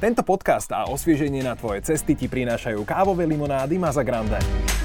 Tento podcast a osvieženie na tvoje cesty ti prinášajú kávové limonády Masa Grande.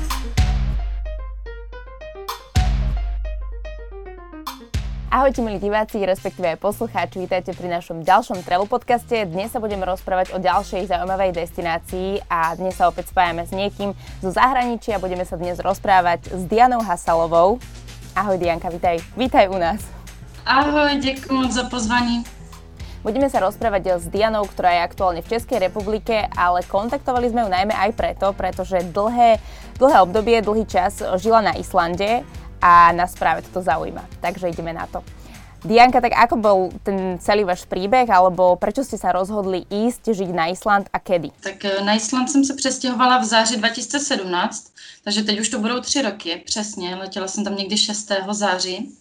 Ahojte milí diváci, respektíve aj poslucháči, vítajte pri našom ďalšom travel podcaste. Dnes sa budeme rozprávať o ďalšej zaujímavej destinácii a dnes sa opäť spájame s niekým zo zahraničia. Budeme sa dnes rozprávať s Dianou Hasalovou. Ahoj Dianka, vítaj u nás. Ahoj, ďakujem moc za pozvanie. Budeme sa rozprávať s Dianou, ktorá je aktuálne v Českej republike, ale kontaktovali sme ju najmä aj pretože dlhé obdobie, dlhý čas žila na Islande a nás práve toto zaujíma. Takže ideme na to. Dianka, tak ako bol ten celý váš príbeh, alebo prečo ste sa rozhodli ísť žiť na Island a kedy? Tak na Island jsem se přestěhovala v září 2017, takže teď už to budou 3 roky, přesně. Letěla jsem tam někdy 6. září.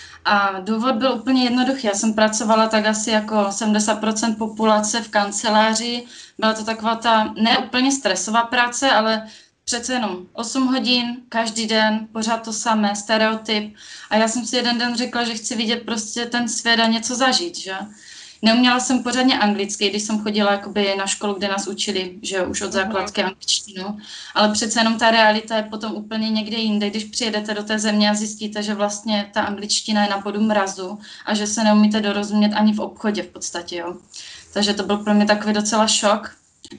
A důvod byl úplně jednoduchý. Já jsem pracovala tak asi jako 70% populace v kanceláři. Byla to taková ta ne úplně stresová práce, ale přece jenom 8 hodin, každý den, pořád to samé, stereotyp. A já jsem si jeden den řekla, že chci vidět prostě ten svět a něco zažít, že? Neuměla jsem pořádně anglicky, když jsem chodila jakoby na školu, kde nás učili, že už od základky angličtinu, ale přece jenom ta realita je potom úplně někde jinde, když přijedete do té země a zjistíte, že vlastně ta angličtina je na bodu mrazu a že se neumíte dorozumět ani v obchodě v podstatě, jo. Takže to byl pro mě takový docela šok.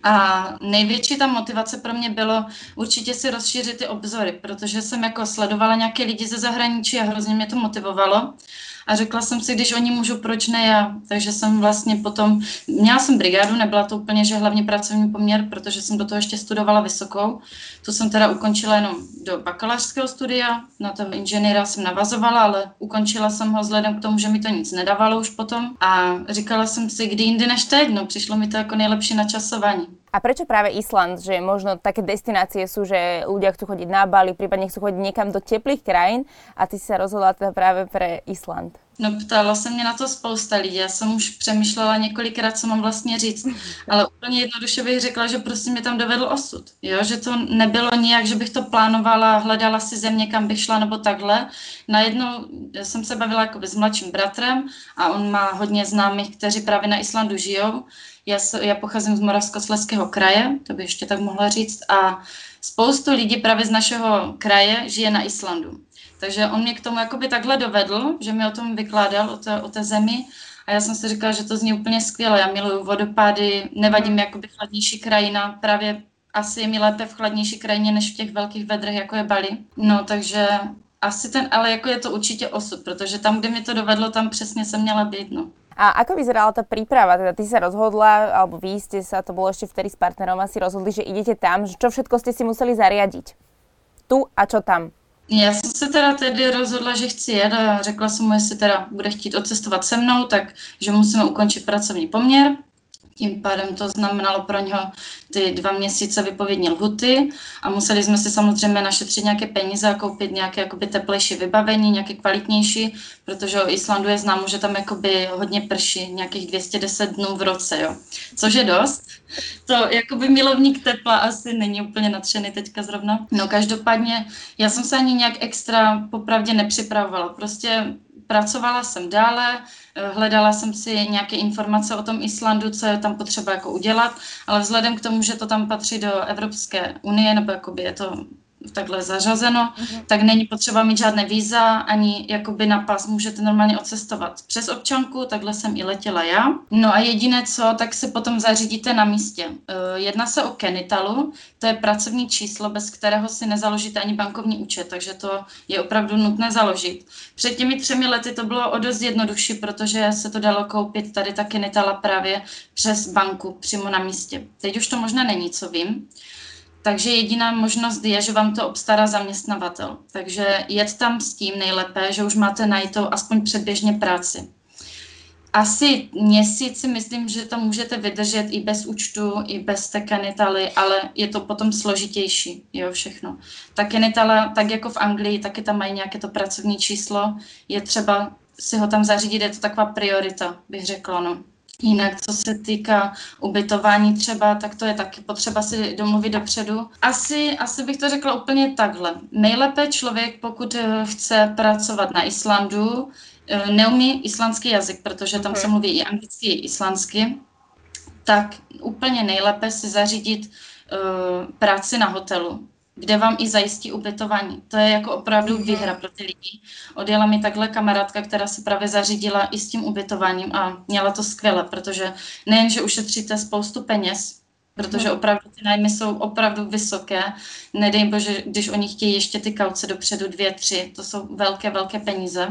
A největší ta motivace pro mě bylo určitě si rozšířit ty obzory, protože jsem jako sledovala nějaké lidi ze zahraničí a hrozně mě to motivovalo. A řekla jsem si, když oni můžou, proč ne já. Takže jsem vlastně potom, měla jsem brigádu, nebyla to úplně, že hlavně pracovní poměr, protože jsem do toho ještě studovala vysokou. Tu jsem teda ukončila jenom do bakalářského studia, na toho inženýra jsem navazovala, ale ukončila jsem ho vzhledem k tomu, že mi to nic nedávalo už potom. A říkala jsem si, kdy jindy než teď, no přišlo mi to jako nejlepší načasování. A prečo práve Island? Že možno také destinácie sú, že ľudia chcú chodiť na Bali, prípadne chcú chodiť niekam do teplých krajín a ty si sa rozhodla teda práve pre Island. No ptala se mě na to spousta lidí, já jsem už přemýšlela několikrát, co mám vlastně říct, ale úplně jednoduše bych řekla, že prostě mě tam dovedl osud, jo? Že to nebylo nijak, že bych to plánovala, hledala si země, kam bych šla nebo takhle. Najednou jsem se bavila jakoby s mladším bratrem a on má hodně známých, kteří právě na Islandu žijou. Já pocházím z Moravskoslezského kraje, to bych ještě tak mohla říct, a spoustu lidí právě z našeho kraje žije na Islandu. Takže on mě k tomu jakoby takhle dovedl, že mi o tom vykládal, o té zemi, a já jsem si říkala, že to zní úplně skvěle. Já miluju vodopády, nevadí mi jakoby chladnější krajina, právě asi je mi lépe v chladnější krajině, než v těch velkých vedrech, jako je Bali. No, takže asi ale jako je to určitě osud, protože tam, kde mi to dovedlo, tam přesně jsem měla být, no. A ako vyzerala tá príprava? Teda ty sa rozhodla, alebo vy ste sa, to bolo ešte vtedy s partnerom, asi rozhodli, že idete tam. Čo všetko ste si museli zariadiť? Tu a čo tam? Já jsem se teda tedy rozhodla, že chci jet a řekla jsem mu, jestli teda bude chtít odcestovat se mnou, tak že musíme ukončit pracovní poměr. Tím pádem to znamenalo pro něho ty 2 měsíce vypovědní lhuty a museli jsme si samozřejmě našetřit nějaké peníze a koupit nějaké jakoby teplejší vybavení, nějaké kvalitnější, protože o Islandu je známo, že tam jakoby hodně prší, nějakých 210 dnů v roce, jo. Což je dost. To jakoby milovník tepla asi není úplně nadšený teďka zrovna. No každopádně já jsem se ani nějak extra popravdě nepřipravovala. Prostě pracovala jsem dále, hledala jsem si nějaké informace o tom Islandu, co je tam potřeba jako udělat, ale vzhledem k tomu, že to tam patří do Evropské unie, nebo jakoby je to takhle zařazeno, tak není potřeba mít žádné víza, ani jakoby na pas můžete normálně odcestovat přes občanku, takhle jsem i letěla já. No a jediné co, tak si potom zařídíte na místě. Jedná se o Kenitalu, to je pracovní číslo, bez kterého si nezaložíte ani bankovní účet, takže to je opravdu nutné založit. Před těmi 3 lety to bylo o dost jednodušší, protože se to dalo koupit tady ta Kenitala právě přes banku přímo na místě. Teď už to možná není, co vím. Takže jediná možnost je, že vám to obstará zaměstnavatel. Takže jet tam s tím nejlépe, že už máte najitou aspoň předběžně práci. Asi měsíc si myslím, že to můžete vydržet i bez účtu, i bez té Kenitaly, ale je to potom složitější, jo, všechno. Ta Kenitala, tak jako v Anglii, taky tam mají nějaké to pracovní číslo, je třeba si ho tam zařídit, je to taková priorita, bych řekla, no. Jinak, co se týká ubytování třeba, tak to je taky potřeba si domluvit dopředu. Asi bych to řekla úplně takhle. Nejlépe člověk, pokud chce pracovat na Islandu, neumí islandský jazyk, protože tam se mluví i anglicky, i islandsky, tak úplně nejlépe si zařídit práci na hotelu, kde vám i zajistí ubytování. To je jako opravdu výhra pro ty lidi. Odjela mi takhle kamarádka, která se právě zařídila i s tím ubytováním a měla to skvěle, protože nejen, že ušetříte spoustu peněz, protože opravdu ty nájmy jsou opravdu vysoké. Nedej bože, když oni chtějí ještě ty kauce dopředu 2, 3, to jsou velké, velké peníze.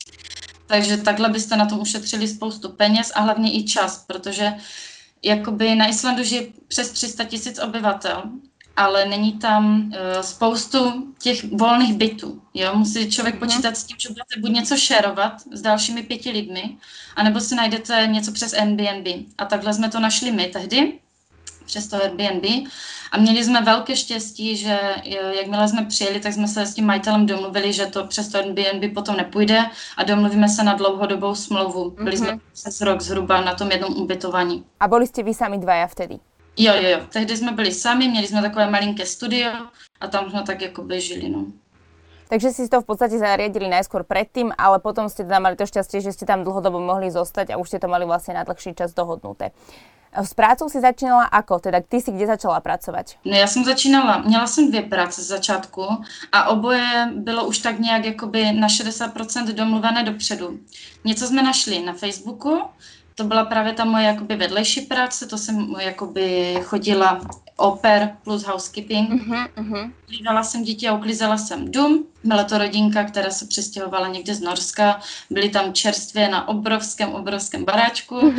Takže takhle byste na tom ušetřili spoustu peněz a hlavně i čas, protože jakoby na Islandu žije přes 300 000 obyvatel, ale není tam spoustu těch volných bytů. Jo? Musí člověk počítat s tím, že budete buď něco šerovat s dalšími 5 lidmi, anebo si najdete něco přes Airbnb. A takhle jsme to našli my tehdy, přes to Airbnb. A měli jsme velké štěstí, že jakmile jsme přijeli, tak jsme se s tím majitelem domluvili, že to přes to Airbnb potom nepůjde a domluvíme se na dlouhodobou smlouvu. Byli jsme přes rok zhruba na tom jednom ubytovaní. A byli jste vy sami dvaja vtedy? Jo. Tehdy jsme byli sami, měli jsme takové malinké studio a tam jsme tak jako žili, no. Takže si to v podstate zariadili najskôr predtým, ale potom ste teda mali to šťastie, že ste tam dlhodobo mohli zostať a už ste to mali vlastne na dlhší čas dohodnuté. S prácou si začínala ako? Teda ty si kde začala pracovať? No já jsem začínala, měla jsem 2 práce z začátku a oboje bylo už tak nějak jakoby na 60% domluvené dopředu. Něco jsme našli na Facebooku, to byla právě ta moje jakoby vedlejší práce, to jsem jakoby chodila au pair plus housekeeping. Hlídala jsem děti a uklízela jsem dům. Byla to rodinka, která se přestěhovala někde z Norska. Byli tam čerstvě na obrovském baráčku.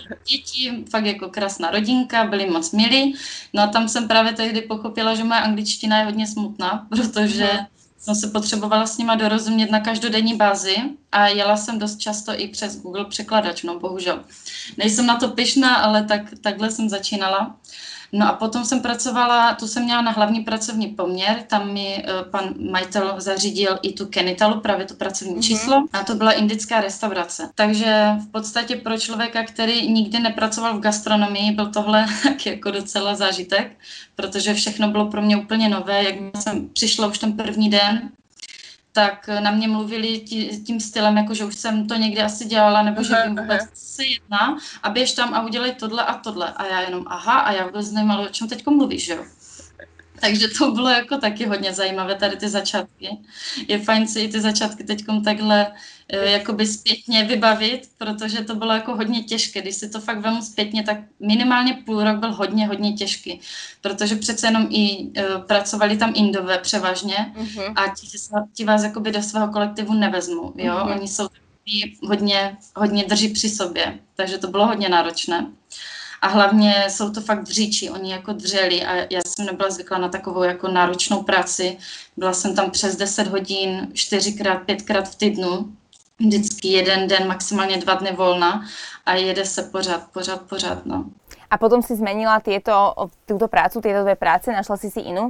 Děti, fakt jako krásná rodinka, byli moc milí. No a tam jsem právě tehdy pochopila, že moje angličtina je hodně smutná, protože jsem se potřebovala s nima dorozumět na každodenní bázi a jela jsem dost často i přes Google překladač, no bohužel. Nejsem na to pyšná, ale takhle jsem začínala. No a potom jsem pracovala, tu jsem měla na hlavní pracovní poměr, tam mi pan majitel zařídil i tu Kenitalu, právě to pracovní číslo, a to byla indická restaurace. Takže v podstatě pro člověka, který nikdy nepracoval v gastronomii, byl tohle jako docela zážitek, protože všechno bylo pro mě úplně nové, jak jsem přišla už ten první den, tak na mě mluvili tím stylem, jako že už jsem to někdy asi dělala, nebo že vím vůbec, co se jedná, a běž tam a udělej tohle a tohle. A já jenom aha, a já vůbec nevím, o čem teďko mluvíš, jo. Takže to bylo jako taky hodně zajímavé, tady ty začátky. Je fajn si i ty začátky teďkom takhle jakoby zpětně vybavit, protože to bylo jako hodně těžké. Když si to fakt vemu zpětně, tak minimálně půl rok byl hodně těžký, protože přece jenom i pracovali tam Indové převážně a ti vás jakoby do svého kolektivu nevezmou, jo. Oni jsou takový hodně drží při sobě, takže to bylo hodně náročné. A hlavně jsou to fakt dříči, oni jako dřeli a já jsem nebyla zvyklá na takovou jako náročnou práci. Byla jsem tam přes 10 hodin, 4x, 5x v týdnu, vždycky jeden den, maximálně 2 dny volna a jede se pořád, no. A potom si zmenila túto prácu, tieto 2 práce, našla si inú?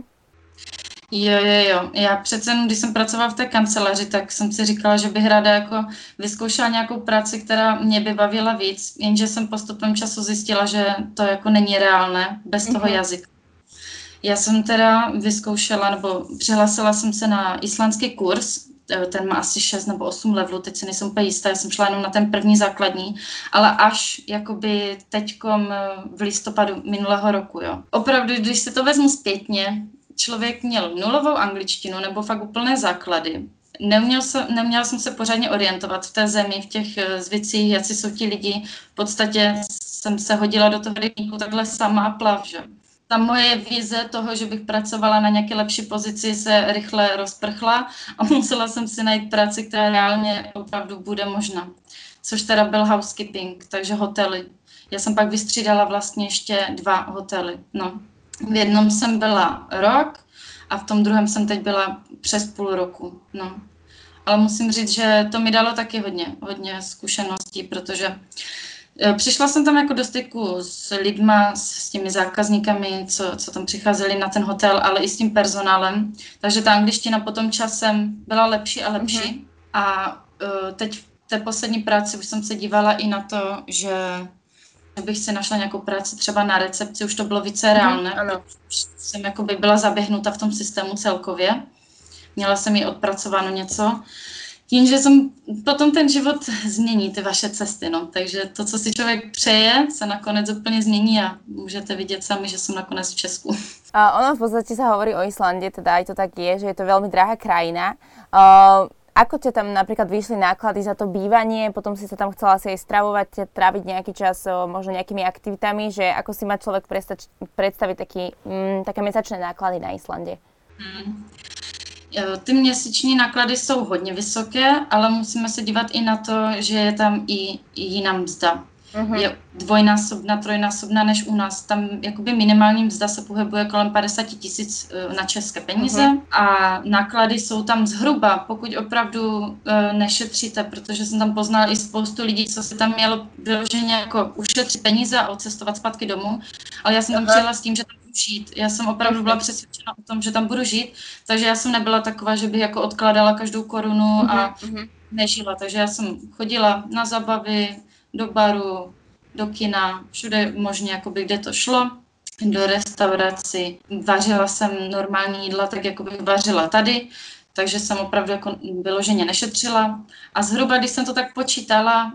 Jo. Já přece, když jsem pracovala v té kanceláři, tak jsem si říkala, že bych ráda jako vyzkoušela nějakou práci, která mě by bavila víc, jenže jsem postupem času zjistila, že to jako není reálné bez toho jazyka. Já jsem teda vyzkoušela, nebo přihlásila jsem se na islandský kurz, ten má asi 6 nebo 8 levelů, teď si nejsem úplně jistá, já jsem šla jenom na ten první základní, ale až jakoby teďkom v listopadu minulého roku, jo. Opravdu, když si to vezmu zpětně, člověk měl nulovou angličtinu nebo fakt úplné základy. Neměla jsem se pořádně orientovat v té zemi, v těch zvycích, jací jsou ti lidi. V podstatě jsem se hodila do toho rybníku takhle sama a plav, že? Ta moje vize toho, že bych pracovala na nějaké lepší pozici, se rychle rozprchla a musela jsem si najít práci, která reálně opravdu bude možná. Což teda byl housekeeping, takže hotely. Já jsem pak vystřídala vlastně ještě 2 hotely, no. V jednom jsem byla rok a v tom druhém jsem teď byla přes půl roku, no. Ale musím říct, že to mi dalo taky hodně zkušeností, protože přišla jsem tam jako do styku s lidma, s těmi zákazníkami, co tam přicházeli na ten hotel, ale i s tím personálem. Takže ta angličtina potom časem byla lepší a lepší. A teď v té poslední práci už jsem se dívala i na to, že bych si našla nějakou práci třeba na recepci, už to bylo více reálné. Už jsem jakoby byla zaběhnuta v tom systému celkově. Měla jsem ji odpracováno něco. Tím, že potom ten život změní ty vaše cesty, no. Takže to, co si člověk přeje, se nakonec úplně změní a můžete vidět sami, že jsem nakonec v Česku. Ono v podstate sa hovorí o Islande, teda aj to tak je, že je to veľmi drahá krajina. Ako ťa tam napríklad vyšli náklady za to bývanie, potom si sa tam chcela asi aj stravovať, tráviť nejaký čas možno nejakými aktivitami, že ako si má človek predstaviť také mesačné náklady na Islande? Ty měsíční náklady jsou hodně vysoké, ale musíme se dívat i na to, že je tam i jiná mzda. Je dvojnásobná, trojnásobná než u nás. Tam jakoby minimální mzda se pohybuje kolem 50 000 na české peníze a náklady jsou tam zhruba, pokud opravdu nešetříte, protože jsem tam poznala i spoustu lidí, co se tam mělo vyloženě jako ušetřit peníze a odcestovat zpátky domů, ale já jsem tam přijela s tím, že tam budu žít. Já jsem opravdu byla přesvědčena o tom, že tam budu žít, takže já jsem nebyla taková, že bych jako odkládala každou korunu a nežila. Takže já jsem chodila na zábavy, do baru, do kina, všude možně, jakoby, kde to šlo, do restaurací. Vařila jsem normální jídla, tak jako bych vařila tady, takže jsem opravdu jako vyloženě nešetřila. A zhruba, když jsem to tak počítala,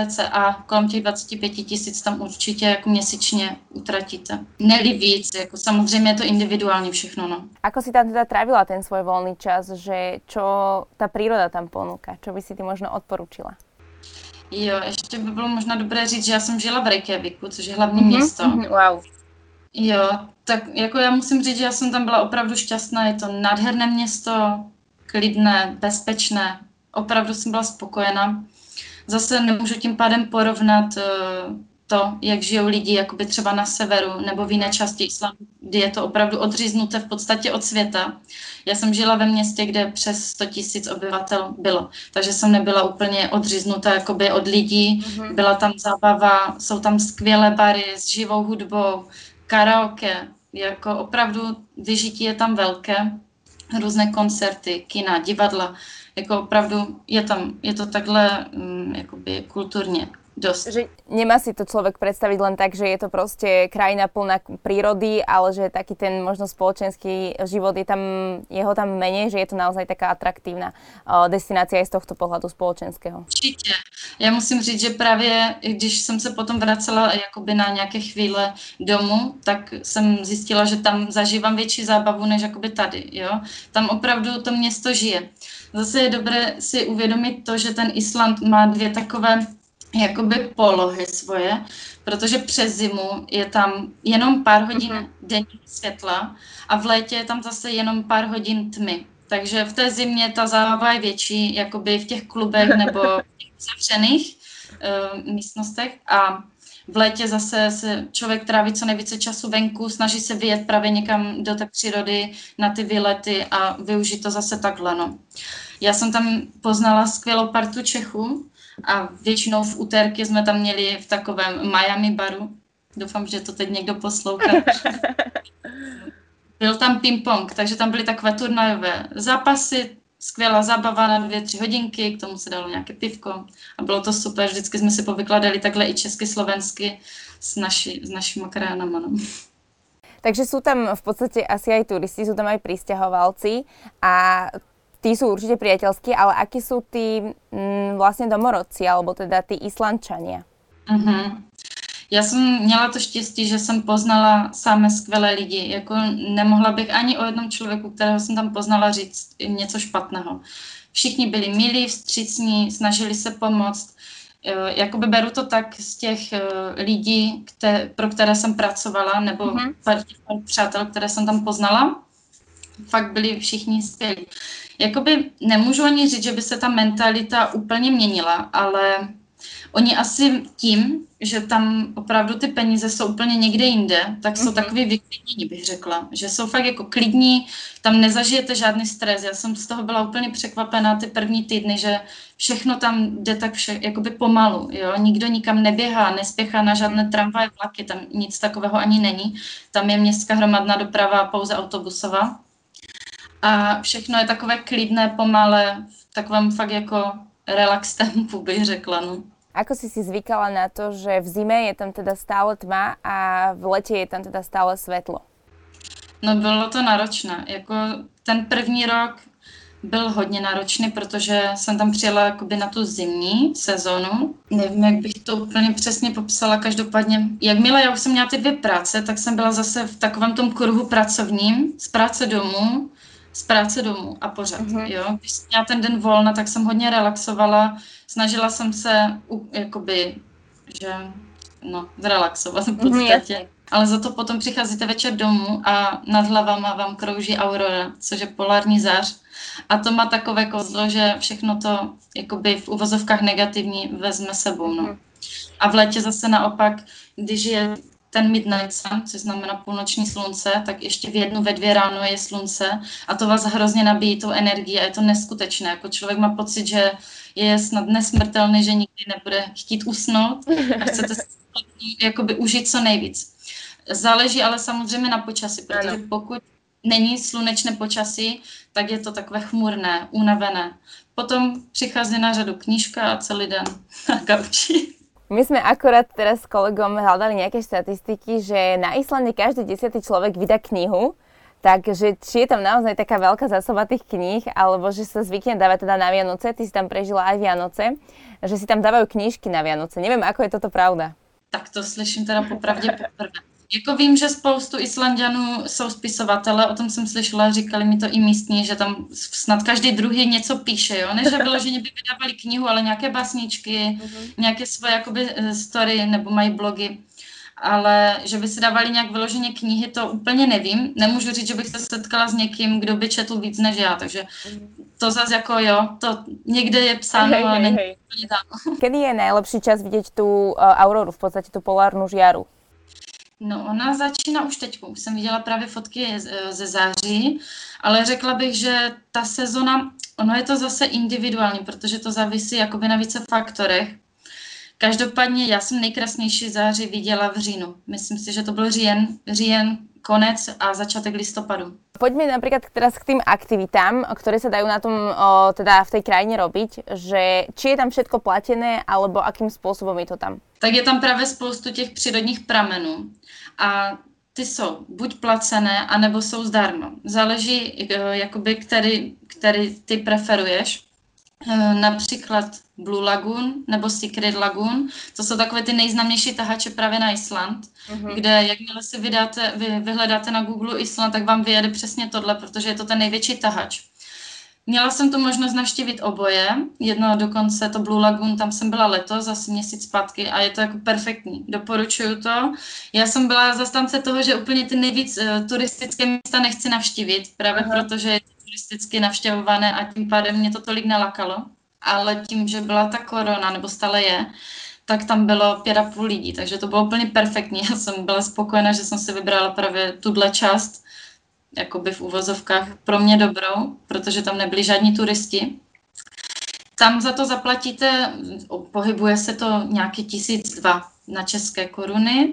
cca kolem těch 25 000 tam určitě jako měsíčně utratíte. Neli víc, jako samozřejmě je to individuální všechno, no. Ako si tam teda trávila ten svoj voľný čas, že čo tá príroda tam ponúka? Čo by si ty možno odporúčila? Jo, ještě by bylo možná dobré říct, že já jsem žila v Reykjavíku, což je hlavní město. Wow. Jo, tak jako já musím říct, že já jsem tam byla opravdu šťastná, je to nádherné město, klidné, bezpečné, opravdu jsem byla spokojená. Zase nemůžu tím pádem porovnat to, jak žijou lidi jakoby třeba na severu nebo v jiné části Islandu, kdy je to opravdu odříznuté v podstatě od světa. Já jsem žila ve městě, kde přes 100 000 obyvatel bylo, takže jsem nebyla úplně odříznutá jakoby od lidí. Byla tam zábava, jsou tam skvělé bary s živou hudbou, karaoke, jako opravdu vyžití je tam velké, různé koncerty, kina, divadla, jako opravdu je to takhle jakoby kulturně dosť. Že nemá si to človek predstaviť len tak, že je to proste krajina plná prírody, ale že taký ten možno spoločenský život je tam, jeho tam menej, že je to naozaj taká atraktívna destinácia aj z tohto pohľadu spoločenského. Určitě. Já musím říct, že právě když jsem se potom vracela jakoby na nějaké chvíle domů, tak jsem zjistila, že tam zažívám větší zábavu než jakoby tady. Jo? Tam opravdu to město žije. Zase je dobré si uvědomit to, že ten Island má dvě takové jakoby polohy svoje, protože přes zimu je tam jenom pár hodin denního světla a v létě je tam zase jenom pár hodin tmy. Takže v té zimě ta zábava je větší, jakoby v těch klubech nebo v těch zavřených místnostech a v létě zase se člověk tráví co nejvíce času venku, snaží se vyjet právě někam do té přírody na ty výlety a využít to zase takhle. No. Já jsem tam poznala skvělou partu Čechů, a většinou v úterky jsme tam měli v takovém Miami baru. Doufám, že to teď někdo poslouchá. Byl tam ping-pong, takže tam byly takové turnajové zápasy, skvělá zábava na 2-3 hodinky, k tomu se dalo nějaké pivko a bylo to super. Vždycky jsme si povykladali takhle i česky, slovensky s našimi krajinami. No. Takže sú tam v podstate asi aj turisti, sú tam aj prisťahovalci a tí sú určite priateľskí, ale akí sú tí vlastne domorodci, alebo teda tí Islandčania? Já jsem měla to štěstí, že jsem poznala samé skvělé lidi. Jako nemohla bych ani o jednom člověku, kterého jsem tam poznala, říct něco špatného. Všichni byli milí, vstřícní, snažili se pomoct. Jakoby beru to tak z těch lidí, pro které jsem pracovala, nebo přátel, které jsem tam poznala. Fakt byli všichni skvělí. Jakoby nemůžu ani říct, že by se ta mentalita úplně měnila, ale oni asi tím, že tam opravdu ty peníze jsou úplně někde jinde, tak jsou takový vyklidnění, bych řekla. Že jsou fakt jako klidní, tam nezažijete žádný stres. Já jsem z toho byla úplně překvapená ty první týdny, že všechno tam jde tak jakoby pomalu. Jo? Nikdo nikam neběhá, nespěchá na žádné tramvaje, vlaky, tam nic takového ani není. Tam je městská hromadná doprava, pouze autobusová. A všechno je takové klidné, pomalé, v takovém fakt jako relax tempu, bych řekla. No. Ako si zvykala na to, že v zime je tam teda stále tma a v lete je tam teda stále svetlo? No bylo to náročné. Jako ten první rok byl hodně náročný, protože jsem tam přijela jakoby na tu zimní sezonu. Nevím, jak bych to úplně přesně popsala, každopádně. Jakmile já už jsem měla ty 2 práce, tak jsem byla zase v takovém tom kruhu pracovním, z práce domů a pořád, jo. Když jsem měla ten den volna, tak jsem hodně relaxovala, snažila jsem se, jakoby, že, zrelaxovat v podstatě. Ale za to potom přicházíte večer domů a nad hlavama vám krouží aurora, což je polární zář. A to má takové kouzlo, že všechno to jakoby v uvozovkách negativní vezme sebou. No. A v létě zase naopak, když je ten midnight sun, což znamená půlnoční slunce, tak ještě v 1, ve 2 ráno je slunce a to vás hrozně nabíjí tou energií a je to neskutečné. Jako člověk má pocit, že je snad nesmrtelný, že nikdy nebude chtít usnout a chcete si jakoby užít co nejvíc. Záleží ale samozřejmě na počasí, protože pokud není slunečné počasí, tak je to takové chmurné, unavené. Potom přichází na řadu knížka a celý den na gauči. My sme akorát teraz s kolegom hľadali nejaké štatistiky, že na Islande každý 10. človek vydá knihu, takže či je tam naozaj taká veľká zásoba tých kníh, alebo že sa zvykne dávať teda na Vianoce, ty si tam prežila aj Vianoce, že si tam dávajú knížky na Vianoce. Neviem, ako je toto pravda. Tak to slyším teda popravdě poprvé. Jako vím, že spoustu Islanďanů jsou spisovatele, o tom jsem slyšela, říkali mi to i místní, že tam snad každý druhý něco píše, jo? Než vyloženě by vydávali knihu, ale nějaké básničky, nějaké svoje jakoby story nebo mají blogy. Ale že by si dávali nějak vyloženě knihy, to úplně nevím. Nemůžu říct, že bych se setkala s někým, kdo by četl víc než já, takže to zase jako jo, to někde je psáno, ale není úplně tam. Kedy je najlepší čas vidět tu auroru, v podstatě tu polárnu žiaru? No, ona začíná už teď. Už jsem viděla právě fotky ze září, ale řekla bych, že ta sezona, ono je to zase individuální, protože to závisí jakoby na více faktorech. Každopádně já jsem nejkrásnější září viděla v říjnu. Myslím si, že to byl říjen, konec a začátek listopadu. Poďme napríklad teraz k tým aktivitám, ktoré sa dajú na tom, teda v tej krajine robiť, že či je tam všetko platené, alebo akým spôsobom je to tam? Tak je tam právě spoustu těch přírodních pramenů a ty jsou buď placené, anebo jsou zdarma. Záleží, jakoby, který ty preferuješ. Například Blue Lagoon nebo Secret Lagoon, to jsou takové ty nejznámější tahače právě na Island, kde jakmile si vyhledáte na Google Island, tak vám vyjede přesně tohle, protože je to ten největší tahač. Měla jsem tu možnost navštívit oboje, jedno dokonce to Blue Lagoon, tam jsem byla letos, asi měsíc zpátky a je to jako perfektní, doporučuju to. Já jsem byla zastánce toho, že úplně ty nejvíc turistické místa nechci navštívit, právě protože je to turisticky navštěvované a tím pádem mě to tolik nelakalo. Ale tím, že byla ta korona, nebo stále je, tak tam bylo 5,5 lidí, takže to bylo úplně perfektní. Já jsem byla spokojená, že jsem si vybrala právě tuhle část, jakoby v uvozovkách pro mě dobrou, protože tam nebyli žádní turisti. Tam za to zaplatíte, pohybuje se to nějaký 1,200 na české koruny.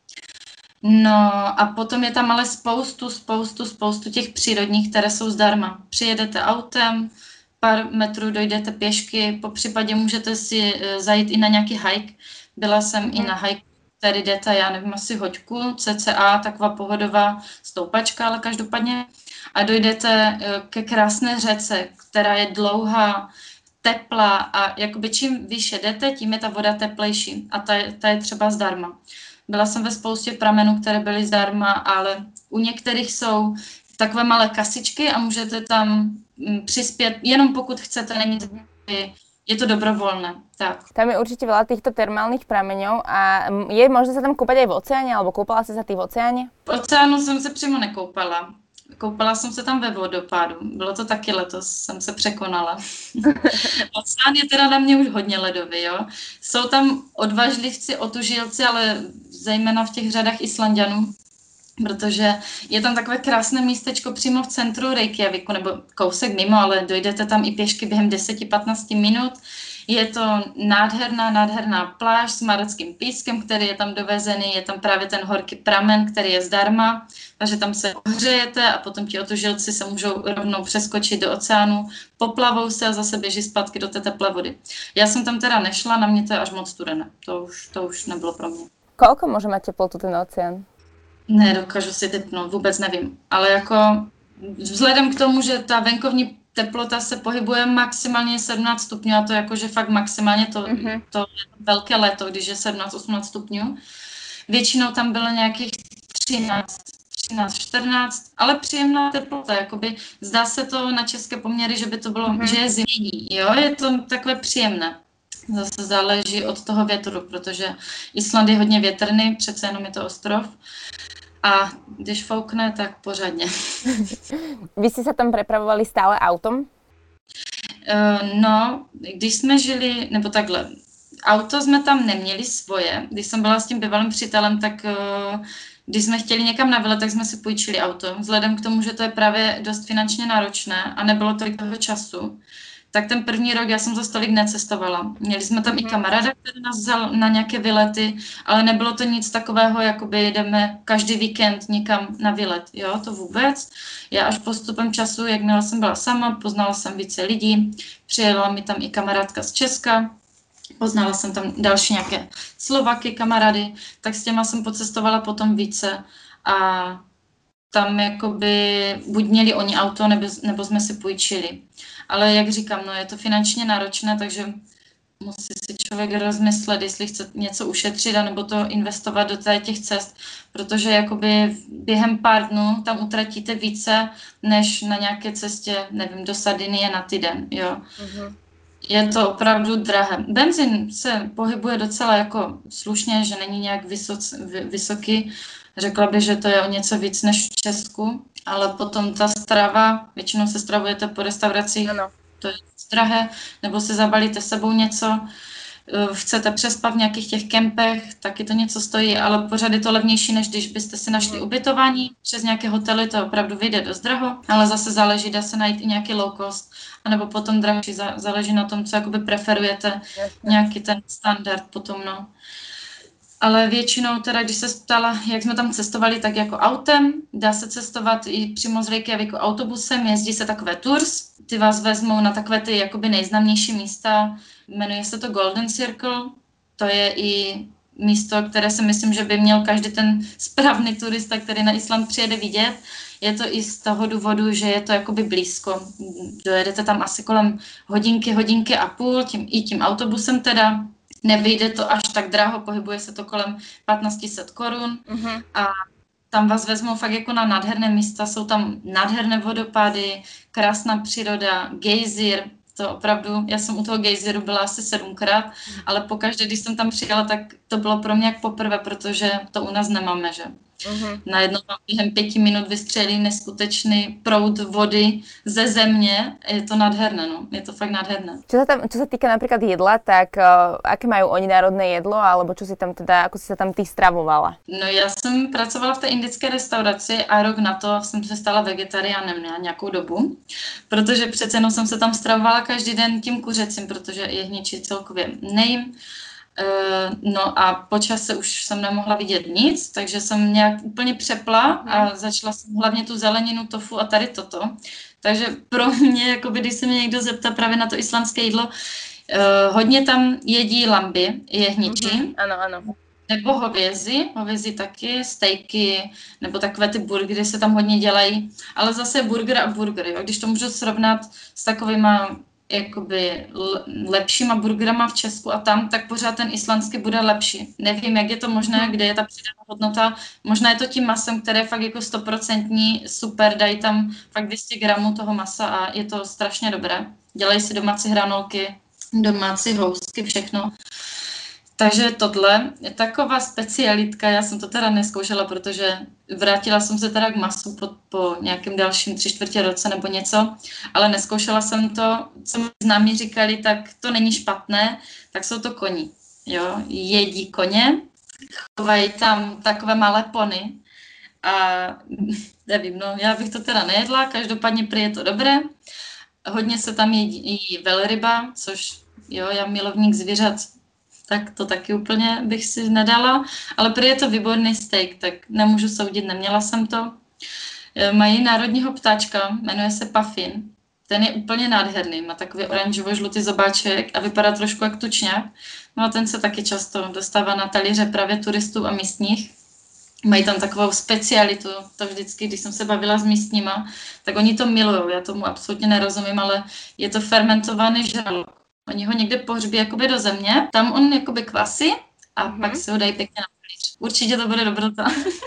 No a potom je tam ale spoustu těch přírodních, které jsou zdarma. Přijedete autem, pár metrů dojdete pěšky, po případě můžete si zajít i na nějaký hike. Byla jsem i na hike, který jdete, já nevím, asi hoďku, cca, taková pohodová stoupačka, ale každopádně. A dojdete ke krásné řece, která je dlouhá, teplá a jakoby čím výše jdete, tím je ta voda teplejší a ta je třeba zdarma. Byla jsem ve spoustě pramenů, které byly zdarma, ale u některých jsou takové malé kasičky a můžete tam přispět, jenom pokud chcete, není to, je to dobrovoľné. Tak. Tam je určite veľa týchto termálnych prameňov a je možné sa tam kúpať aj v oceáne, alebo kúpala si sa ty v oceáne? V oceánu jsem se přímo nekoupala. Koupala jsem se tam ve vodopádu. Bylo to taky letos, jsem se překonala. Oceán je teda na mě už hodně ledový, jo. Jsou tam odvažlivci, otužilci, ale zejména v těch řadách Islanďanů, protože je tam takové krásné místečko přímo v centru Reykjaviku, nebo kousek mimo, ale dojdete tam i pěšky během 10-15 minut. Je to nádherná pláž s marockým pískem, který je tam dovezený, je tam právě ten horký pramen, který je zdarma, takže tam se ohřejete a potom ti otužilci se můžou rovnou přeskočit do oceánu, poplavou se a zase běží zpátky do té teplé vody. Já jsem tam teda nešla, na mě to je až moc studené, to už nebylo pro mě. Koľko môže mať teplotu ten oceán? Nedokážu si typnout, vůbec nevím, ale jako vzhledem k tomu, že ta venkovní teplota se pohybuje maximálně 17 stupňů a to jakože fakt maximálně to je velké léto, když je 17-18 stupňů. Většinou tam bylo nějakých 13-14, ale příjemná teplota, jakoby zdá se to na české poměry, že by to bylo, že je zimní, jo, je to takové příjemné. Zase záleží od toho větru, protože Island je hodně větrný, přece jenom je to ostrov. A když foukne, tak pořádně. Vy jste se tam prepravovali stále autom? No, když jsme žili, nebo takhle, auto jsme tam neměli svoje. Když jsem byla s tím bývalým přítelem, tak když jsme chtěli někam na výlet, tak jsme si půjčili auto. Vzhledem k tomu, že to je právě dost finančně náročné a nebylo tolik toho času, tak ten první rok já jsem za tolik necestovala. Měli jsme tam i kamaráda, který nás vzal na nějaké výlety, ale nebylo to nic takového, jakoby jdeme každý víkend někam na výlet. Jo, to vůbec. Já až postupem času, jakmile jsem byla sama, poznala jsem více lidí, přijela mi tam i kamarádka z Česka, poznala jsem tam další nějaké Slovaky, kamarády, tak s těma jsem pocestovala potom více a tam jakoby buď měli oni auto, nebo jsme si půjčili. Ale jak říkám, no je to finančně náročné, takže musí si člověk rozmyslet, jestli chce něco ušetřit, anebo to investovat do těch cest, protože jakoby během pár dnů tam utratíte více, než na nějaké cestě, nevím, do Sardinie na týden, jo. Je to opravdu drahé. Benzín se pohybuje docela jako slušně, že není nějak vysoký. Řekla bych, že to je o něco víc než v Česku, ale potom ta strava, většinou se stravujete po restauracích, to je drahé, nebo si zabalíte sebou něco, chcete přespat v nějakých těch kempech, taky to něco stojí, ale pořád je to levnější, než když byste si našli ubytování. Přes nějaké hotely to opravdu vyjde dost draho, ale zase záleží, dá se najít i nějaký low cost, anebo potom drahší, záleží na tom, co jakoby preferujete, nějaký ten standard potom, no. Ale většinou teda, když se ptala, jak jsme tam cestovali, tak jako autem, dá se cestovat i přímo z Reykjavíku autobusem, jezdí se takové tours, ty vás vezmou na takové ty jakoby nejznámější místa, jmenuje se to Golden Circle, to je i místo, které si myslím, že by měl každý ten správný turista, který na Island přijede vidět. Je to i z toho důvodu, že je to jakoby blízko. Dojedete tam asi kolem hodinky a půl, tím autobusem teda. Nevyjde to až tak draho, pohybuje se to kolem 1500 korun a tam vás vezmou fakt jako na nádherné místa, jsou tam nádherné vodopády, krásná příroda, gejzír, to opravdu, já jsem u toho gejzíru byla asi 7krát, ale pokaždé, když jsem tam přijela, tak to bylo pro mě jak poprvé, protože to u nás nemáme, že? Najednou vám během 5 minut vystřelí neskutečný proud vody ze země. Je to nádherné, no. Je to fakt nádherné. Čo sa týka napríklad jedla, tak aké majú oni národné jedlo, alebo čo si tam teda, ako si sa tam ty stravovala? No já jsem pracovala v té indické restauraci a rok na to jsem se stala vegetariánem na nějakou dobu, protože přece jenom jsem se tam stravovala každý den tím kuřecím, protože jehničí celkově nejím. No a po čase už jsem nemohla vidět nic, takže jsem nějak úplně přepla a začala jsem hlavně tu zeleninu, tofu a tady toto. Takže pro mě, jakoby, když se mě někdo zeptá právě na to islandské jídlo, hodně tam jedí lamby, jehničí. Ano. Nebo hovězi taky, stejky, nebo takové ty burgery se tam hodně dělají. Ale zase burger a burger, jo? Když to můžu srovnat s takovýma jakoby lepšíma burgerama v Česku a tam, tak pořád ten islandský bude lepší. Nevím, jak je to možné, kde je ta přidaná hodnota. Možná je to tím masem, které je fakt jako 100% super, dají tam fakt 200 gramů toho masa a je to strašně dobré. Dělají si domácí hranolky, domácí housky, všechno. Takže tohle je taková specialitka, já jsem to teda neskoušela, protože vrátila jsem se teda k masu po nějakém dalším 3/4 roce nebo něco, ale neskoušela jsem to, co mi známí říkali, tak to není špatné, tak jsou to koni, jo, jedí koně, chovají tam takové malé pony a nevím, no já bych to teda nejedla, každopádně prý je to dobré, hodně se tam jedí velryba, což jo, já milovník zvířat, tak to taky úplně bych si nedala, ale prý je to výborný steak, tak nemůžu soudit, neměla jsem to. Mají národního ptáčka, jmenuje se Puffin, ten je úplně nádherný, má takový oranžovo-žlutý zobáček a vypadá trošku jak tučňák, no a ten se taky často dostává na talíře právě turistů a místních. Mají tam takovou specialitu, to vždycky, když jsem se bavila s místníma, tak oni to milujou, já tomu absolutně nerozumím, ale je to fermentovaný žralok. Oni ho někde pohřbí jakoby do země, tam on jakoby kvasí a pak si ho dají pěkně na pilíř. Určitě to bude dobrota.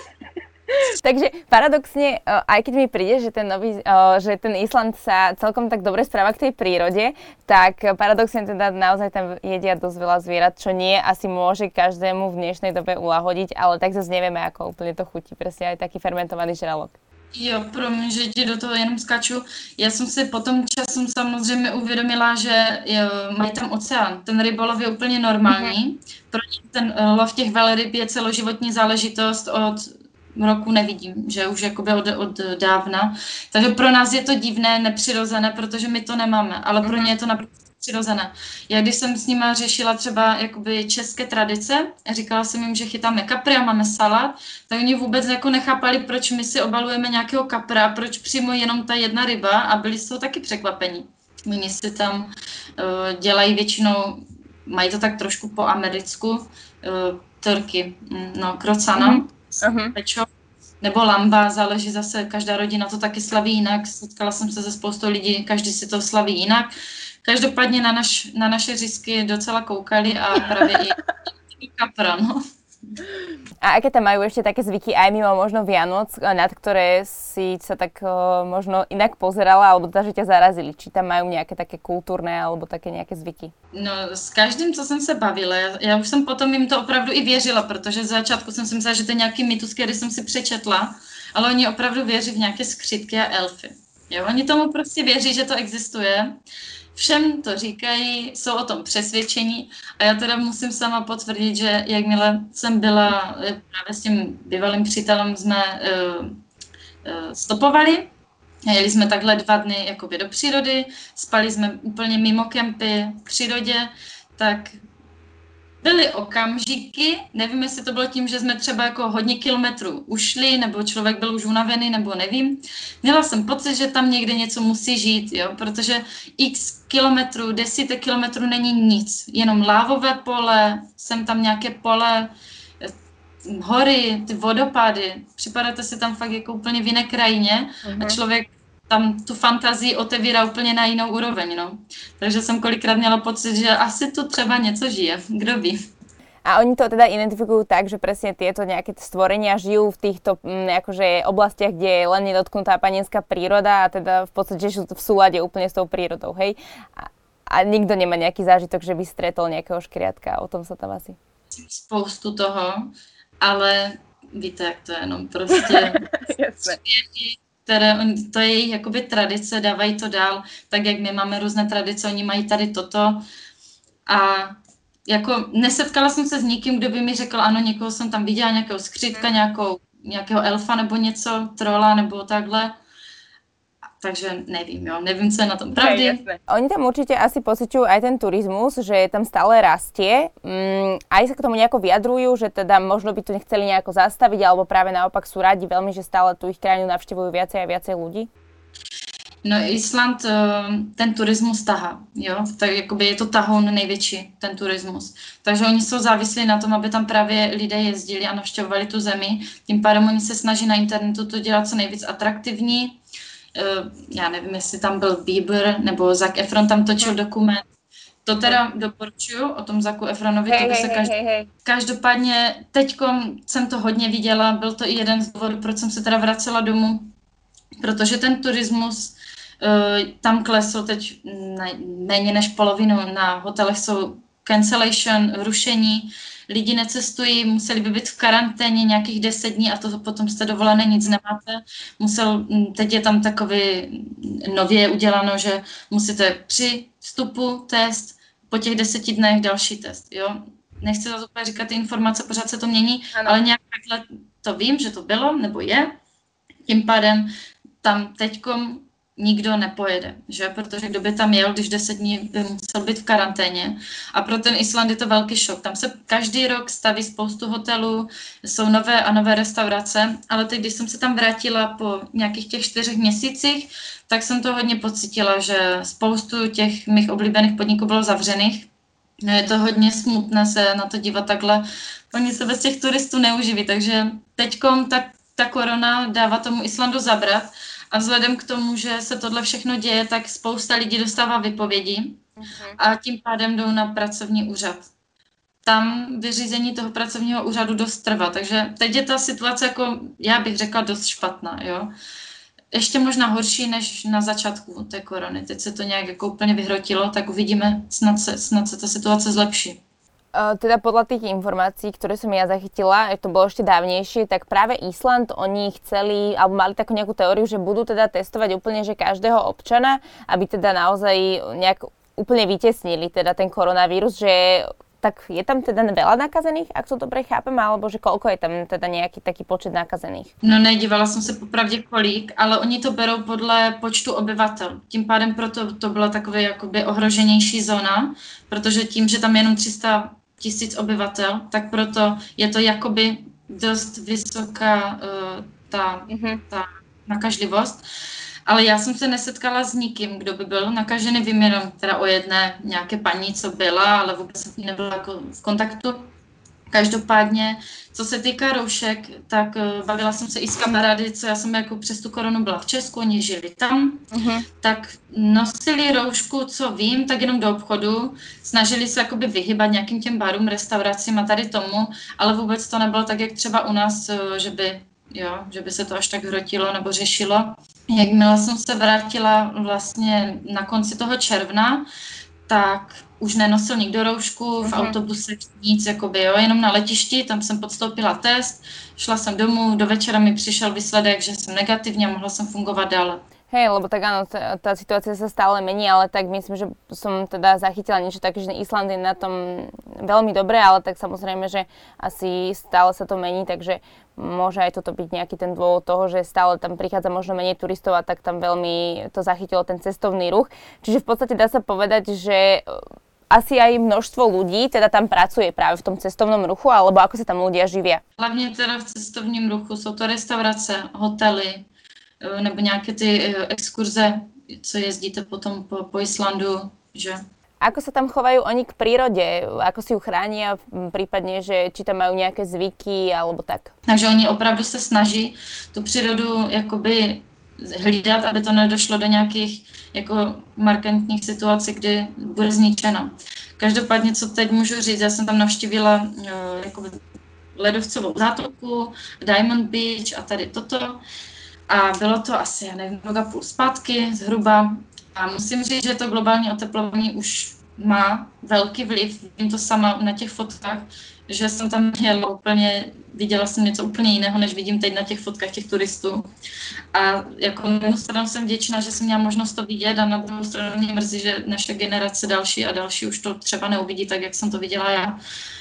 Takže paradoxne, aj keď mi príde, že že ten Island sa celkom tak dobre správa k tej prírode, tak paradoxne teda naozaj tam jedia dosť veľa zvierat, čo nie asi môže každému v dnešnej dobe ulahodiť, ale tak zase nevieme, ako úplne to chutí, presne aj taký fermentovaný žralok. Jo, promiň, že ti do toho jenom skáču. Já jsem si potom časem samozřejmě uvědomila, že mají tam oceán. Ten rybolov je úplně normální. Pro ně ten lov těch velryb je celoživotní záležitost od roku nevidím, že už jakoby od dávna. Takže pro nás je to divné, nepřirozené, protože my to nemáme, ale pro ně je to naprosto přirozené. Já když jsem s nima řešila třeba jakoby české tradice, říkala jsem jim, že chytáme kapry a máme salát, tak oni vůbec jako nechápali, proč my si obalujeme nějakého kapra, proč přímo jenom ta jedna ryba a byli z toho taky překvapení. Oni si tam dělají většinou, mají to tak trošku po americku, turky, krocana, pečo, nebo lamba, záleží zase, každá rodina to taky slaví jinak, setkala jsem se se spoustou lidí, každý si to slaví jinak. Každopádně na naše řízky docela koukali a právě i kapra, no. A aké tam majú ešte také zvyky aj mimo možno Vianoc, nad ktoré si sa tak možno inak pozerala, alebo že ťa zarazili? Či tam majú nejaké také kultúrne alebo také nejaké zvyky? No, s každým, co jsem se bavila, já už jsem potom jim to opravdu i věřila, protože z začátku jsem si myslela, že to je nějaký mýtus, který jsem si přečetla, ale oni opravdu věří v nějaké skřítky a elfy. Jo, oni tomu prostě věří, že to existuje. Všem to říkají, jsou o tom přesvědčení a já teda musím sama potvrdit, že jakmile jsem byla právě s tím bývalým přítelem, jsme stopovali, jeli jsme takhle 2 dny jakoby do přírody, spali jsme úplně mimo kempy v přírodě, tak byly okamžiky, nevím, jestli to bylo tím, že jsme třeba jako hodně kilometrů ušli, nebo člověk byl už unavený, nebo nevím. Měla jsem pocit, že tam někde něco musí žít, jo, protože x kilometrů, desítek kilometrů není nic, jenom lávové pole, sem tam nějaké pole, hory, ty vodopády, připadáte si tam fakt jako úplně v jiné krajině a člověk tam tu fantazii otevírá úplně na jinou úroveň, no. Takže jsem kolikrát měla pocit, že asi tu třeba něco žije, kdo ví. A oni to teda identifikujú tak, že presne tieto nejaké stvorenia žijú v týchto akože oblastiach, kde je len nedotknutá panenská príroda a teda v podstate sú v súlade úplne s tou prírodou, hej? A nikto nemá nejaký zážitok, že by stretol nejakého škriatka, o tom sa tam asi... Spoustu toho, ale víte, jak to je, no prostě... To je jejich jakoby tradice, dávají to dál, tak jak my máme různé tradice, oni mají tady toto a jako nesetkala jsem se s nikým, kdo by mi řekl, ano, někoho jsem tam viděla, nějakého skřítka, nějakého elfa nebo něco, trola nebo takhle. Takže nevím, co je na tom pravdy. Oni tam určite asi pociťujú aj ten turizmus, že tam stále rastie. Aj sa k tomu nejako vyjadrujú, že teda možno by to nechceli nejako zastaviť, alebo práve naopak sú radi veľmi, že stále tú ich krajinu navštevujú viacej a viacej ľudí? No Island ten turismus tahá, jo, tak jakoby je to tahoun největší, ten turismus. Takže oni jsou závislí na tom, aby tam právě lidé jezdili a navštěvovali tu zemi. Tím pádem oni se snaží na internetu to dělat co nejvíc atraktivní. Já nevím, jestli tam byl Bieber nebo Zac Efron tam točil dokument. To teda doporučuju o tom Zacu Efronovi. Každopádně teďkom jsem to hodně viděla, byl to i jeden z důvodů, proč jsem se teda vracela domů, protože ten turismus tam klesl teď méně než polovinu, na hotelech jsou cancellation, rušení, lidi necestují, museli by být v karanténě nějakých 10 dní a to potom jste dovolené, nic nemáte. Teď je tam takový nově uděláno, že musíte při vstupu test, po těch 10 dnech další test. Jo? Nechci zase úplně říkat ty informace, pořád se to mění, ale nějak takhle to vím, že to bylo nebo je. Tím pádem tam teďkom nikdo nepojede, že? Protože kdo by tam jel, když 10 dní by musel být v karanténě. A pro ten Island je to velký šok. Tam se každý rok staví spoustu hotelů, jsou nové a nové restaurace, ale teď, když jsem se tam vrátila po nějakých těch 4 měsících, tak jsem to hodně pocítila, že spoustu těch mých oblíbených podniků bylo zavřených. No, je to hodně smutné se na to dívat takhle. Oni se bez těch turistů neuživí, takže teďkom ta korona dává tomu Islandu zabrat a vzhledem k tomu, že se tohle všechno děje, tak spousta lidí dostává vypovědi a tím pádem jdou na pracovní úřad. Tam vyřízení toho pracovního úřadu dost trvá, takže teď je ta situace, jako já bych řekla, dost špatná, jo. Ještě možná horší než na začátku té korony. Teď se to nějak jako úplně vyhrotilo, tak uvidíme, snad se ta situace zlepší. Teda podľa tých informácií, ktoré som ja zachytila, to bolo ešte dávnejšie, tak práve Island, oni chceli, alebo mali takú nejakú teóriu, že budú teda testovať úplne, že každého občana, aby teda naozaj nejak úplne vytesnili teda ten koronavírus, že tak je tam teda veľa nakazených, ak to dobre chápem, alebo že koľko je tam teda nejaký taký počet nakazených? No nedívala jsem se popravdě kolik, ale oni to berou podle počtu obyvatel. Tím pádem proto to byla takové jakoby ohroženější zóna, protože tím, že tam je jenom 300 000 obyvatel, tak proto je to jakoby dost vysoká ta nakažlivost. Ale já jsem se nesetkala s nikým, kdo by byl nakažený, vím jenom teda o jedné nějaké paní, co byla, ale vůbec jsem s ní nebyla jako v kontaktu. Každopádně, co se týká roušek, tak bavila jsem se i s kamarády, co já jsem jako přes tu koronu byla v Česku, oni žili tam, tak nosili roušku, co vím, tak jenom do obchodu, snažili se jakoby vyhybat nějakým těm barům, restauracím a tady tomu, ale vůbec to nebylo tak, jak třeba u nás, že by se to až tak hrotilo nebo řešilo. Jakmile jsem se vrátila vlastně na konci toho června, tak už nenosil nikdo roušku, v autobuse nic, jakoby, jo, jenom na letišti, tam jsem podstoupila test, šla jsem domů, do večera mi přišel výsledek, že jsem negativní a mohla jsem fungovat dále. Hej, lebo tak áno, tá situácia sa stále mení, ale tak myslím, že som teda zachytila niečo také, že Island je na tom veľmi dobre, ale tak samozrejme, že asi stále sa to mení, takže môže aj toto byť nejaký ten dôvod toho, že stále tam prichádza možno menej turistov a tak tam veľmi to zachytilo ten cestovný ruch. Čiže v podstate dá sa povedať, že asi aj množstvo ľudí teda tam pracuje práve v tom cestovnom ruchu, alebo ako sa tam ľudia živia? Hlavně teda v cestovním ruchu jsou to restaurace, hotely, nebo nějaké ty exkurze, co jezdíte potom po Islandu, že? Ako sa tam chovajú oni k prírode? Ako si ju chránia? Prípadně, že či tam majú nejaké zvyky alebo tak? Takže oni opravdu se snaží tu přírodu jakoby hlídat, aby to nedošlo do nějakých jako markantních situací, kdy bude zničena. Každopádně, co teď můžu říct, já jsem tam navštívila jakoby ledovcovou zátoku, Diamond Beach a tady toto. A bylo to asi, já nevím, rok a půl zpátky zhruba. A musím říct, že to globální oteplování už má velký vliv. Vím to sama na těch fotkách, že jsem tam jela úplně, viděla jsem něco úplně jiného, než vidím teď na těch fotkách těch turistů. A jako na jednu stranu jsem vděčná, že jsem měla možnost to vidět a na druhou stranu mě mrzí, že naše generace další a další už to třeba neuvidí tak, jak jsem to viděla já.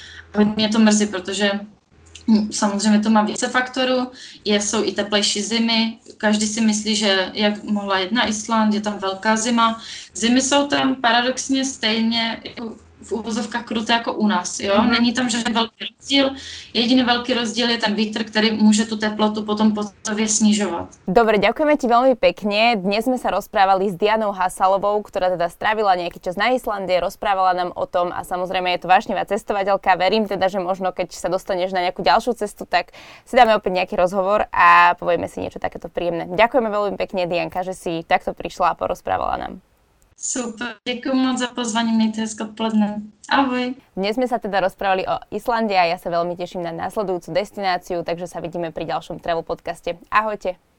A mě to mrzí, protože samozřejmě to má více faktorů, jsou i teplejší zimy, každý si myslí, že jak mohla jet na Island, je tam velká zima. Zimy jsou tam paradoxně stejně v uvozovkách kruté jako u nás, jo? Není tam žádný velký rozdíl, jediný velký rozdíl je ten vítr, který může tu teplotu potom poctivě snižovat. Dobre, ďakujeme ti veľmi pekne. Dnes sme sa rozprávali s Dianou Hasalovou, ktorá teda strávila nejaký čas na Islande, rozprávala nám o tom a samozrejme je to vášnivá cestovateľka. Verím teda, že možno keď sa dostaneš na nejakú ďalšiu cestu, tak si dáme opäť nejaký rozhovor a povieme si niečo takéto príjemné. Ďakujeme veľmi pekne, Dianka, že si takto prišla a porozprávala nám. Super, děkuji moc za pozvání, mějte hezké odpoledne. Ahoj. Dnes sme sa teda rozprávali o Islande a ja sa veľmi teším na následujúcu destináciu, takže sa vidíme pri ďalšom travel podcaste. Ahojte.